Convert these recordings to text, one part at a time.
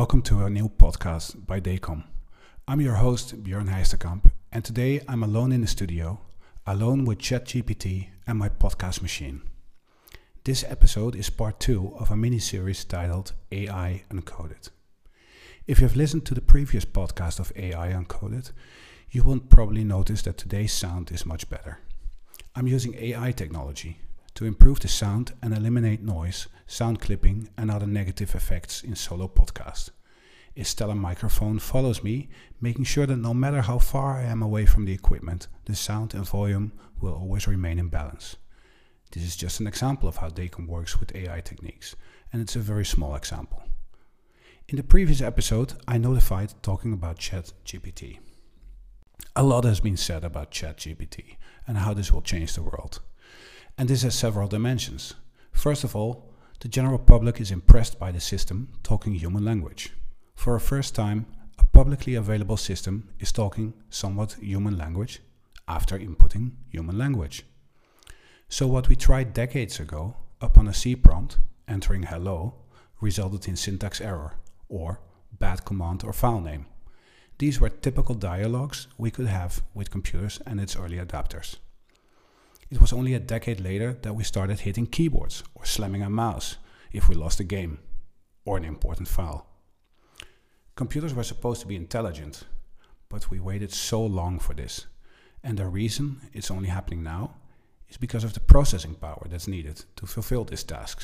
welcome to a new podcast by Dacom. I'm your host, Björn Heisterkamp, and today I'm alone in the studio, alone with ChatGPT and my podcast machine. This episode is part 2 of a mini-series titled AI Uncoded. If you've listened to the previous podcast of AI Uncoded, you will probably notice that today's sound is much better. I'm using AI technology to improve the sound and eliminate noise, sound clipping and other negative effects in solo podcasts. A stellar microphone follows me, making sure that no matter how far I am away from the equipment, the sound and volume will always remain in balance. This is just an example of how Dacom works with AI techniques, and it's a very small example. In the previous episode, I notified talking about ChatGPT. A lot has been said about ChatGPT and how this will change the world. And this has several dimensions. First of all, the general public is impressed by the system talking human language. For a first time, a publicly available system is talking somewhat human language after inputting human language. So what we tried decades ago upon a C prompt, entering hello, resulted in syntax error or bad command or file name. These were typical dialogues we could have with computers and its early adapters. It was only a decade later that we started hitting keyboards or slamming a mouse if we lost a game or an important file. Computers were supposed to be intelligent, but we waited so long for this. And the reason it's only happening now is because of the processing power that's needed to fulfill these tasks.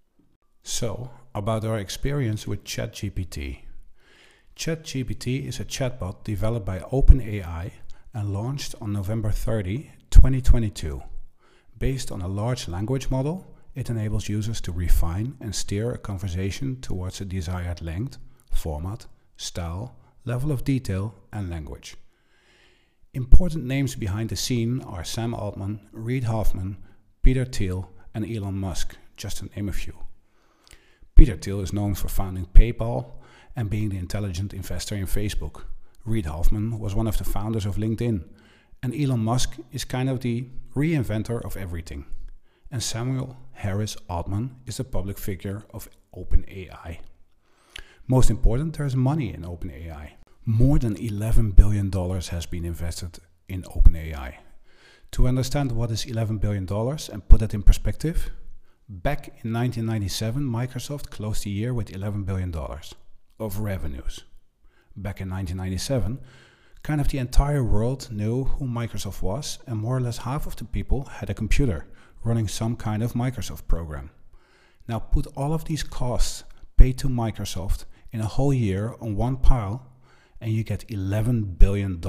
So, about our experience with ChatGPT. ChatGPT is a chatbot developed by OpenAI and launched on November 30, 2022. Based on a large language model, it enables users to refine and steer a conversation towards a desired length, format, style, level of detail, and language. Important names behind the scene are Sam Altman, Reid Hoffman, Peter Thiel, and Elon Musk, just to name a few. Peter Thiel is known for founding PayPal and being the intelligent investor in Facebook. Reid Hoffman was one of the founders of LinkedIn. And Elon Musk is kind of the reinventor of everything. And Samuel Harris Altman is the public figure of OpenAI. Most important, there is money in OpenAI. More than $11 billion has been invested in OpenAI. To understand what is $11 billion and put that in perspective, back in 1997, Microsoft closed the year with $11 billion of revenues. Back in 1997, kind of the entire world knew who Microsoft was, and more or less half of the people had a computer running some kind of Microsoft program. Now put all of these costs paid to Microsoft in a whole year on one pile and you get $11 billion.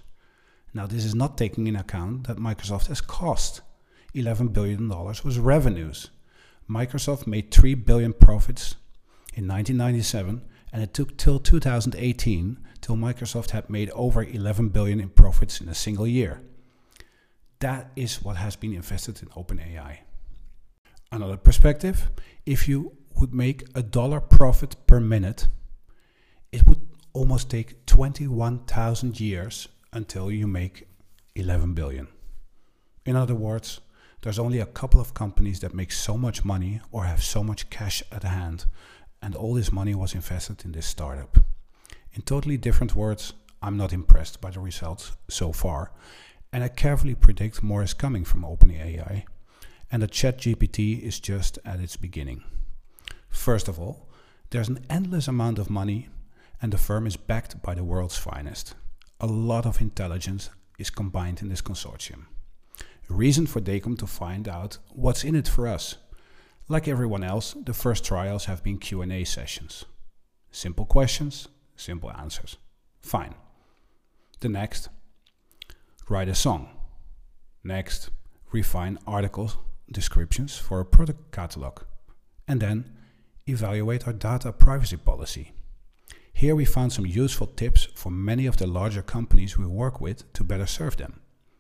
Now this is not taking into account that Microsoft has cost. $11 billion was revenues. Microsoft made $3 billion profits in 1997, and it took till 2018 till Microsoft had made over 11 billion in profits in a single year. That is what has been invested in OpenAI. Another perspective, if you would make $1 profit per minute, it would almost take 21,000 years until you make 11 billion. In other words, there's only a couple of companies that make so much money or have so much cash at hand, and all this money was invested in this startup. In totally different words, I'm not impressed by the results so far, and I carefully predict more is coming from OpenAI, and that ChatGPT is just at its beginning. First of all, there's an endless amount of money, and the firm is backed by the world's finest. A lot of intelligence is combined in this consortium. A reason for Dacom to find out what's in it for us. Like everyone else, the first trials have been Q&A sessions. Simple questions, simple answers. Fine. The next, write a song. Next, refine article descriptions for a product catalog. And then, evaluate our data privacy policy. Here we found some useful tips for many of the larger companies we work with to better serve them.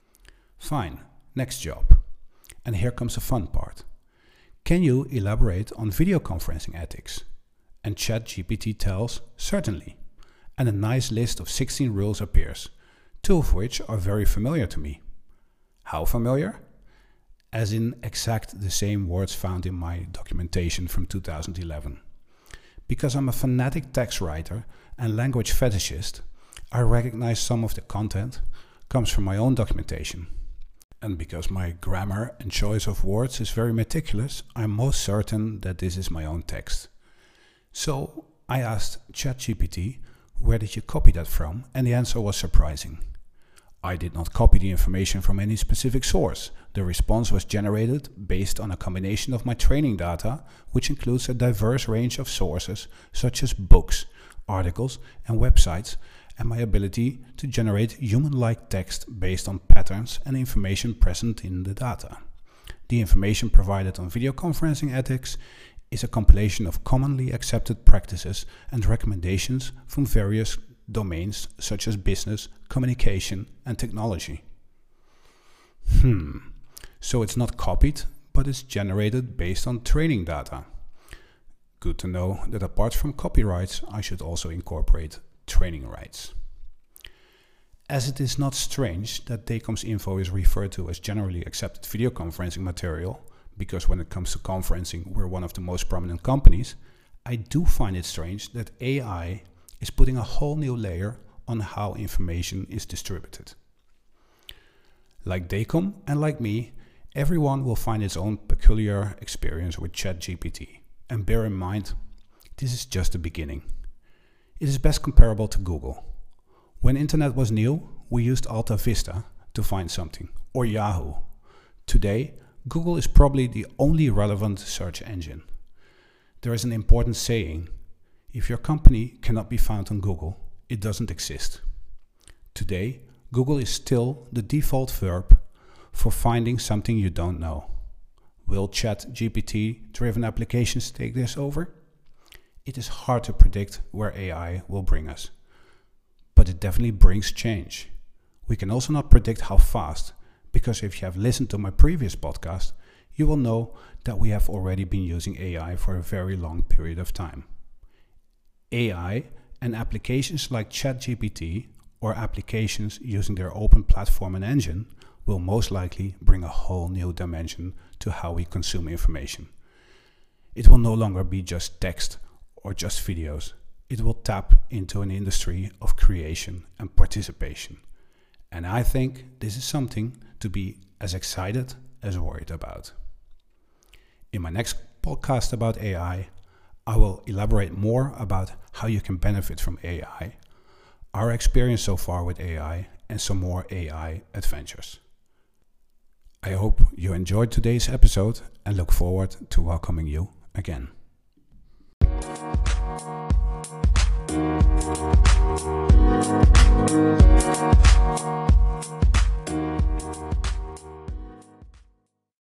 Fine. Next job. And here comes the fun part. Can you elaborate on video conferencing ethics? And ChatGPT tells, certainly. And a nice list of 16 rules appears, 2 of which are very familiar to me. How familiar? As in exact the same words found in my documentation from 2011. Because I'm a fanatic text writer and language fetishist, I recognize some of the content comes from my own documentation. And because my grammar and choice of words is very meticulous, I'm most certain that this is my own text. So I asked ChatGPT, where did you copy that from? And the answer was surprising. I did not copy the information from any specific source. The response was generated based on a combination of my training data, which includes a diverse range of sources such as books, articles, and websites, and my ability to generate human-like text based on patterns and information present in the data. The information provided on video conferencing ethics is a compilation of commonly accepted practices and recommendations from various domains such as business, communication, and technology. So it's not copied, but it's generated based on training data. Good to know that apart from copyrights, I should also incorporate training rights. As it is not strange that DECOM's info is referred to as generally accepted video conferencing material, because when it comes to conferencing, we're one of the most prominent companies, I do find it strange that AI is putting a whole new layer on how information is distributed. Like DECOM and like me, everyone will find its own peculiar experience with ChatGPT. And bear in mind, this is just the beginning. It is best comparable to Google. When internet was new, we used Alta Vista to find something, or Yahoo. Today, Google is probably the only relevant search engine. There is an important saying: if your company cannot be found on Google, it doesn't exist. Today, Google is still the default verb for finding something you don't know. Will ChatGPT-driven applications take this over? It is hard to predict where AI will bring us, but it definitely brings change. We can also not predict how fast, because if you have listened to my previous podcast, you will know that we have already been using AI for a very long period of time. AI and applications like ChatGPT or applications using their open platform and engine will most likely bring a whole new dimension to how we consume information. It will no longer be just text or just videos. It will tap into an industry of creation and participation. And I think this is something to be as excited as worried about. In my next podcast about AI, I will elaborate more about how you can benefit from AI, our experience so far with AI, and some more AI adventures. I hope you enjoyed today's episode and look forward to welcoming you again.